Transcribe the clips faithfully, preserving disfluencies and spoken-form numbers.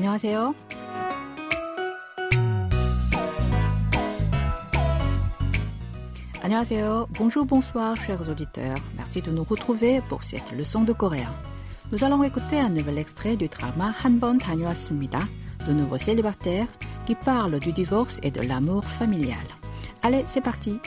안녕하세요. 안녕하세요. Bonjour, bonsoir, chers auditeurs. Merci de nous retrouver pour cette leçon de coréen. Nous allons écouter un nouvel extrait du drama 한 번 다녀왔습니다. De nouveaux célibataires qui parlent du divorce et de l'amour familial. Allez, c'est parti.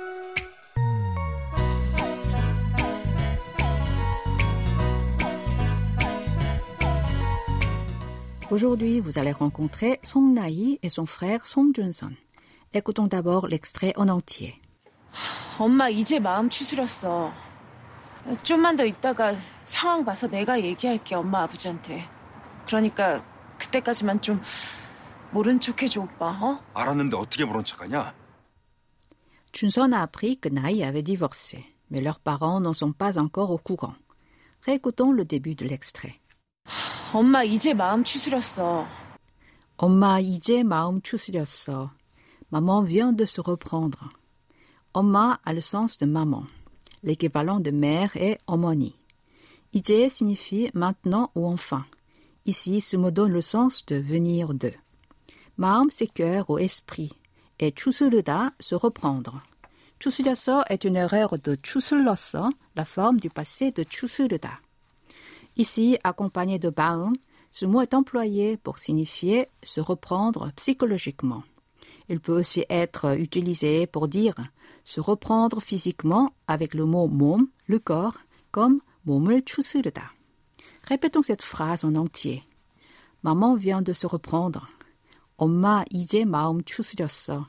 Aujourd'hui, vous allez rencontrer Song Na-hee et son frère Song Jun-sun. Écoutons d'abord l'extrait en entier. 엄마 이제 마음 추스렸어. 좀만 더 있다가 상황 봐서 내가 얘기할게, 엄마 아버지한테. 그러니까 그때까지만 좀 모른 척 해줘, 오빠. 어? 알았는데 어떻게 모른 척하냐? Jun-sun a appris que Na-hee avait divorcé, mais leurs parents n'en sont pas encore au courant. Réécoutons le début de l'extrait. 엄마 이제 마음 추스렸어. 엄마 이제 마음 추스렸어. Maman vient de se reprendre. 엄마 a le sens de maman. L'équivalent de mère est 어머니. 이제 signifie maintenant ou enfin. Ici, ce mot donne le sens de venir de. 마음, c'est cœur ou esprit. Et 추스르다, se reprendre. 추스렸어 est une erreur de 추슬렀어, la forme du passé de 추스르다. Ici, accompagné de 마음, ce mot est employé pour signifier se reprendre psychologiquement. Il peut aussi être utilisé pour dire se reprendre physiquement avec le mot 몸, le corps, comme 몸을 추스르다. Répétons cette phrase en entier. Maman vient de se reprendre. 엄마 이제 마음 추스렸어.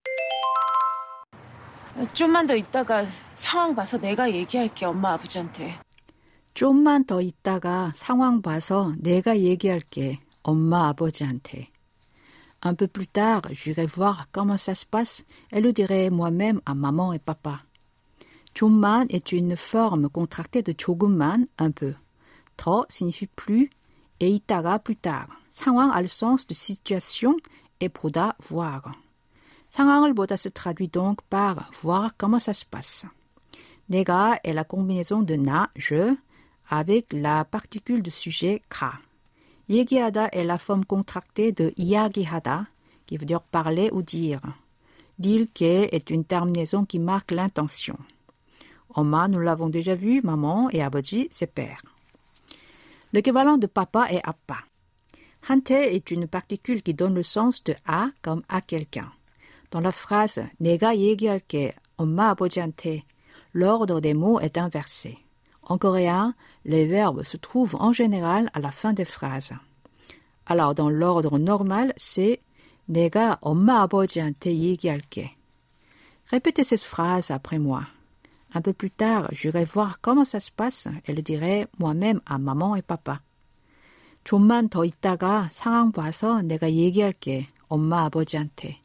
좀만 더 있다가 상황 봐서 내가 얘기할게, 엄마 아버지한테. 좀만 더 있다가 상황 봐서 내가 얘기할게, 엄마 아버지한테. Un peu plus tard, j'irai voir comment ça se passe et le dirai moi-même à maman et papa. 좀만 est une forme contractée de 조금만, un peu. 더 signifie plus et 있다가 plus tard. 상황 a le sens de situation et 보다 voir. 상황을 보다 se traduit donc par voir comment ça se passe. 내가 est la combinaison de 나, je, avec la particule de sujet 가. 얘기하다 est la forme contractée de 이야기하다, qui veut dire parler ou dire. 릴게 est une terminaison qui marque l'intention. 엄마, nous l'avons déjà vu, maman et 아버지, c'est père. L'équivalent de papa est 아빠. 한테 est une particule qui donne le sens de à comme à quelqu'un. Dans la phrase 내가 얘기할게, 엄마 아버지한테, l'ordre des mots est inversé. En coréen, les verbes se trouvent en général à la fin des phrases. Alors, dans l'ordre normal, c'est 내가 엄마 아버지한테 얘기할게. Répétez cette phrase après moi. Un peu plus tard, j'irai voir comment ça se passe et le dirai moi-même à maman et papa. 좀만 더 있다가 상황 봐서 내가 얘기할게, 엄마 아버지한테.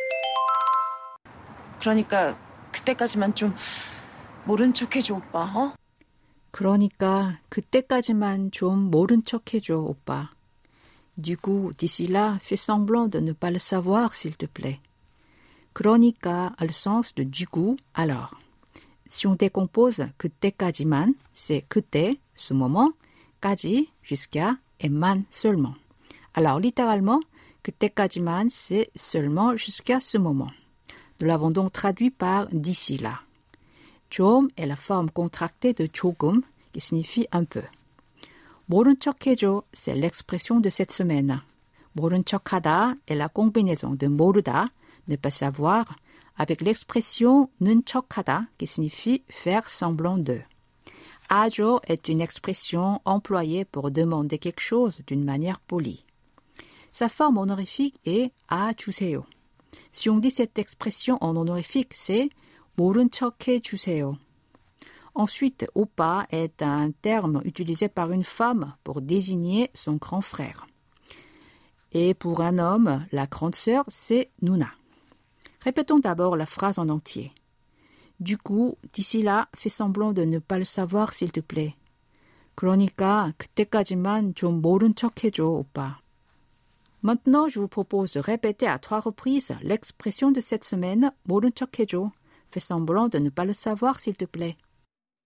그러니까 그때까지만 좀 모른 척 해줘, 오빠. 어? 그러니까 그때까지만 좀 모른 척 해줘, 오빠. Du coup, d'ici là, fais semblant de ne pas le savoir, s'il te plaît. 그러니까 a le sens de du coup, alors. Si on décompose 그때까지만, c'est 그때, ce moment, 까지, jusqu'à, et 만, seulement. Alors, littéralement, 그때까지만, c'est seulement jusqu'à ce moment. Nous l'avons donc traduit par d'ici là. 좀 est la forme contractée de 조금, qui signifie un peu. 모른 척 해줘, c'est l'expression de cette semaine. 모른 척하다 est la combinaison de 모르다, ne pas savoir, avec l'expression 는 척하다, qui signifie faire semblant de. 아줘 est une expression employée pour demander quelque chose d'une manière polie. Sa forme honorifique est 아 주세요. Si on dit cette expression en honorifique, c'est 모른 척 해주세요. Ensuite, 오빠 est un terme utilisé par une femme pour désigner son grand frère. Et pour un homme, la grande sœur, c'est 누나. Répétons d'abord la phrase en entier. Du coup, d'ici là, fais semblant de ne pas le savoir, s'il te plaît. 그러니까 그때까지만 좀 모른 척 해줘, 오빠. Maintenant, je vous propose de répéter à trois reprises l'expression de cette semaine, 모른 척 해줘. Fais semblant de ne pas le savoir, s'il te plaît.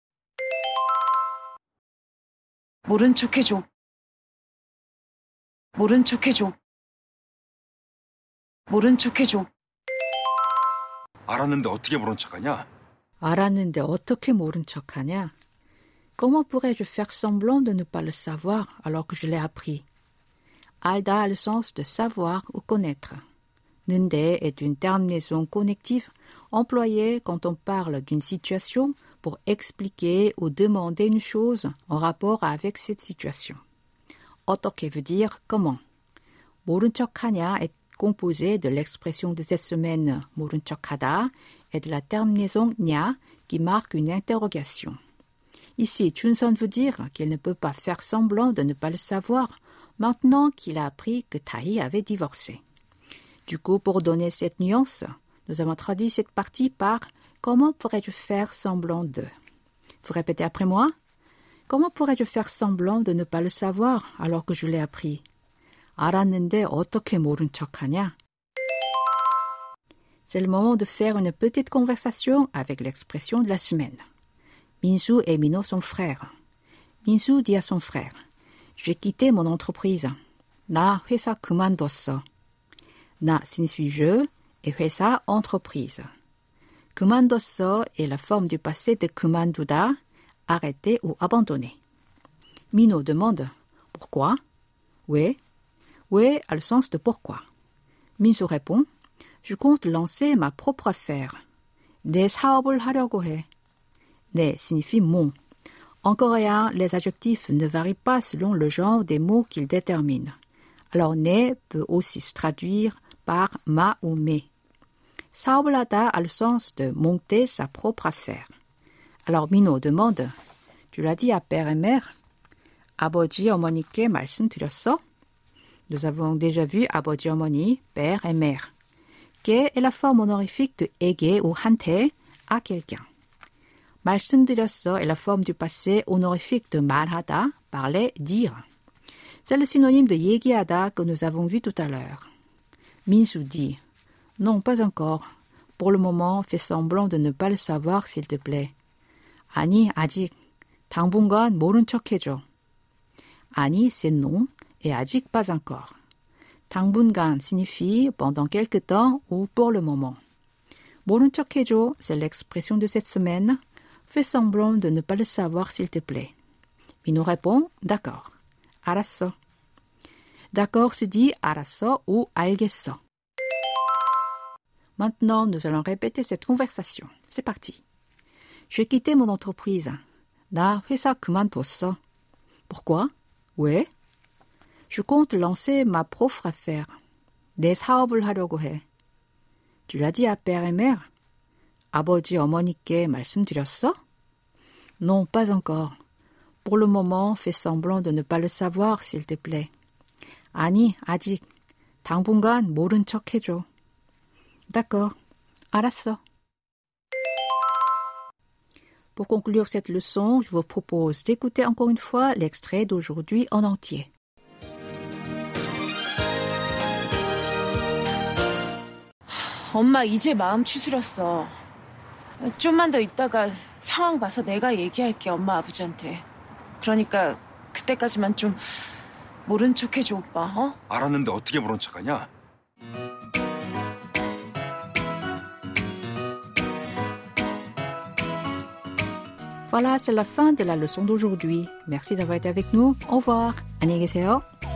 모른 척 해줘. 모른 척 해줘. 모른 척 해줘. 알았는데 어떻게 모른 척하냐? 알았는데 어떻게 모른 척하냐? Comment pourrais-je faire semblant de ne pas le savoir alors que je l'ai appris? Alda a le sens de savoir ou connaître. Nende est une terminaison connective employée quand on parle d'une situation pour expliquer ou demander une chose en rapport avec cette situation. 어떻게 veut dire comment. 모른 척하냐 est composé de l'expression de cette semaine 모른 척하다 et de la terminaison 냐 qui marque une interrogation. Ici, Chunson veut dire qu'il ne peut pas faire semblant de ne pas le savoir maintenant qu'il a appris que Tahi avait divorcé. Du coup, pour donner cette nuance, nous avons traduit cette partie par « Comment pourrais-je faire semblant de ?» Vous répétez après moi. « Comment pourrais-je faire semblant de ne pas le savoir alors que je l'ai appris ?» 알았는데 어떻게 모른 척하냐? C'est le moment de faire une petite conversation avec l'expression de la semaine. Minsu et Mino sont frères. Minsu dit à son frère « J'ai quitté mon entreprise. 나 회사 그만뒀어. » 나 signifie je et 회사 entreprise. 그만뒀어 est la forme du passé de 그만두다, arrêter ou abandonner. Mino demande « Pourquoi ?» 왜? 왜 a le sens de pourquoi. Minsu répond « Je compte lancer ma propre affaire. 내 사업을 하려고 해. » 내 signifie mon. En coréen, les adjectifs ne varient pas selon le genre des mots qu'ils déterminent. Alors 내 peut aussi se traduire par ma ou mes. 사업을 하다 a le sens de monter sa propre affaire. Alors Mino demande « Tu l'as dit à père et mère? 아버지 어머니께 말씀드렸어? » Nous avons déjà vu 아버지 어머니, père et mère. 께 est la forme honorifique de 에게 ou 한테, à quelqu'un. 말씀드렸어 est la forme du passé honorifique de 말하다, parler, dire. C'est le synonyme de 얘기하다 que nous avons vu tout à l'heure. Minsu dit « Non, pas encore. Pour le moment, fais semblant de ne pas le savoir, s'il te plaît. » 아니, 아직. 당분간 모른 척 해줘. 아니, c'est non, et 아직 pas encore. 당분간 signifie pendant quelque temps ou pour le moment. 모른 척 해줘, c'est l'expression de cette semaine. Fais semblant de ne pas le savoir, s'il te plaît. Mino répond « D'accord. » 알았어. D'accord se dit 알았어 ou 알겠어. Maintenant, nous allons répéter cette conversation. C'est parti. J'ai quitté mon entreprise. 나 회사 그만뒀어. Pourquoi? 왜? Je compte lancer ma propre affaire. 내 사업을 하려고 해. Tu l'as dit à père et mère? 아버지 어머니께 말씀드렸어? Non, pas encore. Pour le moment, fais semblant de ne pas le savoir, s'il te plaît. 아니, 아직. 당분간 모른 척 해줘. D'accord. 알았어. Pour conclure cette leçon, je vous propose d'écouter encore une fois l'extrait d'aujourd'hui en entier. 엄마 이제 마음 추스렸어. 좀만 더 있다가 상황 봐서 내가 얘기할게, 엄마 아버지한테. 그러니까 그때까지만 좀 모른 척 해줘, 오빠. 어? 알았는데 어떻게 모른 척하냐? Voilà, c'est la fin de la leçon d'aujourd'hui. Merci d'avoir été avec nous. Au revoir. 안녕히 계세요.